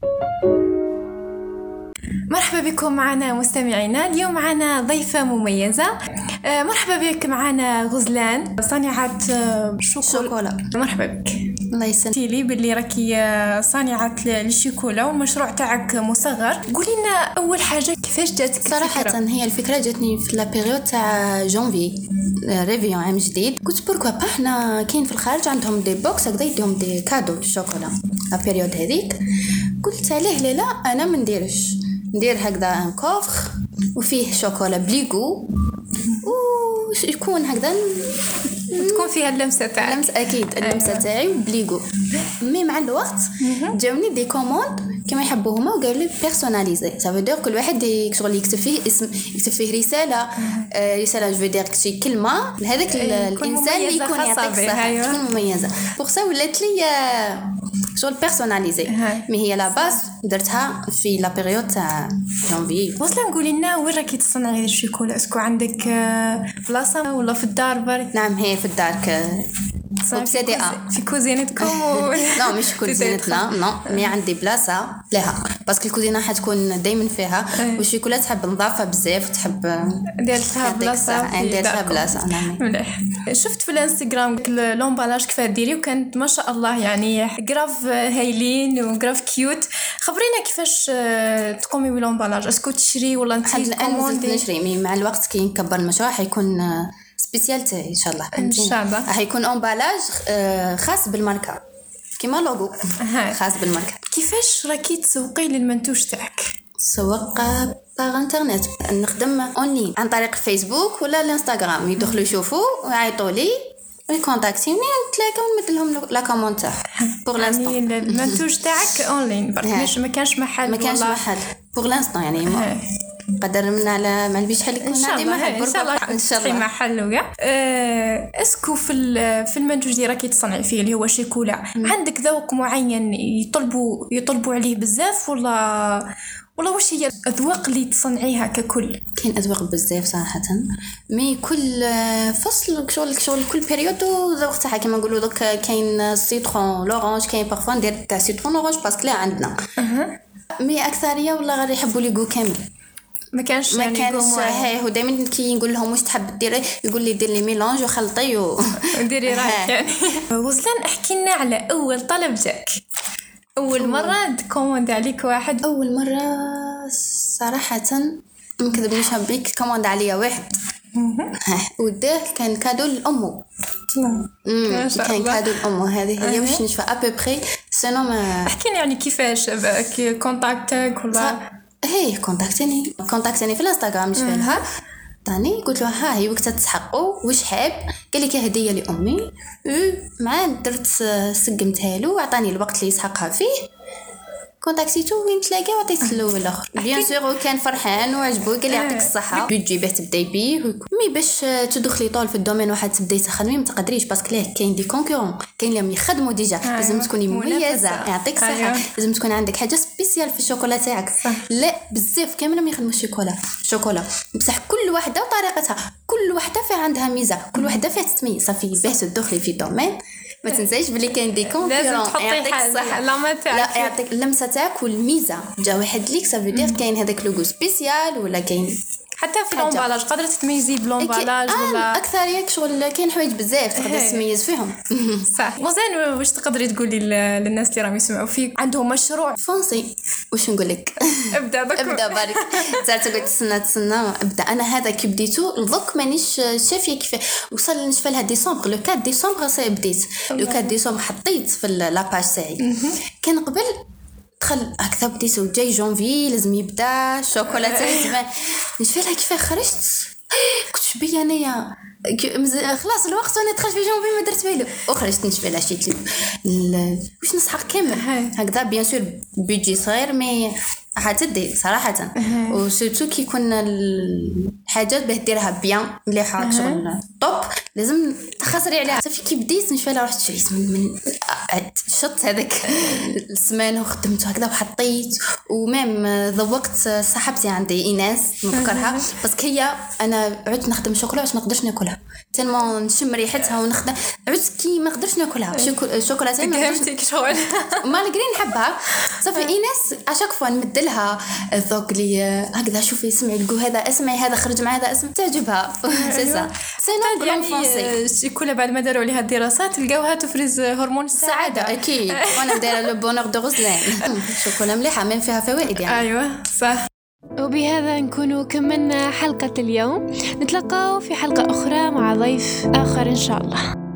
مرحبا بكم معنا مستمعينا. اليوم معنا ضيفة مميزة. مرحبا بك معنا غزلان صانعة شوكولا. مرحبا بك. الله يسلمك. لي باللي راكي صانعة الشوكولا والمشروع تاعك مصغر. قولي لنا أول حاجة كيفاش جاتك صراحة الفكرة؟ هي الفكرة جاتني في لا بيريود تاع جانفي ريفيون عام جديد. قلت بوركوا با احنا كاين في الخارج عندهم دي بوكس هكذا يديهم دي كادو الشوكولا لا بيريود هذيك. قلت عليه لا انا ما ندير هكذا ان كوفر وفيه شوكولا بليغو ويكون هكذا تكون فيها اللمسة تاعك. اللمسة اكيد اللمسة تاعي بليغو. مي مع الوقت جاوني دي كوموند كما يحبوهما وقالوا لي بيرسوناليزي. سافو دير كل واحد شغل يكتب فيه اسم، يكتب فيه رسالة جو فيدير شي كلمة لهذاك الانسان اللي يكون يعطيك الصحة تكون مميزة. بوغ سا ولات لي شغل بيرسوناليزي. مي هي لا باز درتها في لا بيريود تاع جانفي. وصلا نقولي لنا وين راكي تصنعي هذه الشوكولا؟ اسكو عندك بلاصة ولا في الدار برك؟ نعم هي في الدار في كوزينتكم لا مش كوزينتنا نو مي عندي بلاصه لها باسكو الكوزينه حتكون دائما فيها والشوكولا تحب نظافه بزاف وتحب ديرتها بلاصه. نعم مليح. شفت في الانستغرام لومبالاج كيف ديري وكانت ما شاء الله يعني غراف هايلين وغراف كيوت. خبرينا كيفاش تقومي باللومبالاج؟ اسكو تشري ولا انت كوموندي؟ نشري مع الوقت كي نكبر المشروع حيكون سبيسيالتي ان شاء الله. ان شاء الله حيكون امبالاج خاص بالماركه كيما لوغو خاص بالماركه. كيفاش راكي تسوقي للمنتوج تاعك؟ سوق باغ انترنت، نخدم اونلاين عن طريق فيسبوك ولا الانستغرام. يدخلوا يشوفوا ويعيطوا لي ويكونتاكتيني ونتلاقاو ونمد لهم لا كوموند تاع بوغ لانستون. يعني المنتوج تاعك اونلاين برك ما كانش محل بوغ لانستون يعني قدر من على ما نبيش حل يكون عندي محل ان شاء الله محل ويا. اسكو في المنتوج اللي راكي تصنعي فيه اللي هو شيكولا عندك ذوق معين يطلبوا عليه بزاف ولا واش هي الاذواق اللي تصنعيها ككل؟ كاين اذواق بزاف صراحه مي كل فصل شغل كل بيريود ذوق تاعها. كما نقولوا دوك كاين سيترون لورانج، كاين بارفون ندير تاع سيترون لورانج باسكو لا عندنا مي اكثريه والله غير يحبوا لي جو كامل. ما كانش هو دائما كي نقول لهم واش تحب ديري يقول لي دير لي ميلانج وخلطي وديري رايك يعني. غزلان احكي لنا على اول طلب جاك، اول مره كوموند عليك واحد. اول مره صراحه ما نكذبش بيك كوموند عليا واحد وداه كان كادو لامه. كان كادو لامه هذه هي واش نشوف ابري سينو ما احكي لي يعني كيفاش كونتاكتك ولا هي كونتاكتني في الانستغرام نشوفها طاني قلت له ها هي وقتها تسحقوا واش حاب. قال لي كهديه لامي مع درت سقمتها له وعطاني الوقت اللي يسحقها فيه. كونتاكتيتو وين تلاقى وعطيت له الاخر بيان سور وكان فرحان وعجبو قال لي يعطيك الصحه بيجي به تبداي بيه مي باش تدخلي طول في الدومين واحد تبداي تخدمي ما تقدريش باسكو ليه كاين دي كونكورون كاين اللي يخدموا ديجا. لازم تكوني مميزه يعطيك الصحه. لازم تكون عندك حاجه سبيسيال في الشوكولا تاعك. لا بزاف كامل ما يخدموا الشوكولا بصح كل وحده وطريقتها، كل وحده فيها عندها ميزه، كل وحده فيها تتميز. صافي باه تدخلي في دومين ما تنسايش بلي كاين دي كونكورون. لازم تحطي حاجه لا يعطيك اللمسه تاعك والميزه جا واحد ليك. سافو دير كاين هذاك لوغو سبيسيال ولا كاين حتى في لومبالاج قادره تتميزي بلومبالاج ولا اكثر ياك شغل كاين حوايج بزاف تقدر تميز فيهم. صح. وزين واش تقدري تقولي للناس اللي راهم يسمعوا فيك عندهم مشروع فونسي واش نقول لك ابدا برك تقعد تسنى ابدا. انا هذا كي بديتو الضك مانيش شافيه كيف وصل نشفى لها ديسمبر لو 4 ديسمبر بديت لو 4 ديسمبر حطيت في لاباج تاعي. كان قبل دخل هكذا بديت وجاي جونفي لازم يبدا الشوكولا تاعي زمان نشفى لها كيف خرجت كنت شبيه انايا خلاص الوقت وانا دخلت في جونفي ما درت بالو وخرجت نشفى لها شي واش نسحق كامل هكذا. بيان سور بيجي صغير مي حتدي صراحه. وسورتو كي كنا الحاجات باه ديرها بيان مليحه شغل طوب لازم تخسري عليها. صافي كي بديت نشوف رحت شريت من شط هذاك السمان وخدمت هكذا وحطيت. ومام ذوقت صاحبتي عندي ايناس نذكرها بس هي انا عدت نخدم شوكولا باش ما نقدرش ناكلها تالمون نشم ريحتها ونخدم عدت كي ما نقدرش ناكلها شوكولاته ما فهمتك شغل ما نقدر نحبها. صافي ايناس اشاك فوا نمدلها الذوق لي هكذا شوفي اسمعي الجو هذا اسمعي هذا خرج مع هذا اسمع تعجبها سي سا سينو بلون فرونسي. الشوكولا بعد ما داروا عليها الدراسات لقاوها تفرز هرمون السعاده اكيد. وانا دايره لو بونور دو غوزلان الشوكولا مليحه من فيها فوائد يعني. ايوه صح. وبهذا نكون كملنا حلقة اليوم. نتلقاو في حلقة أخرى مع ضيف آخر إن شاء الله.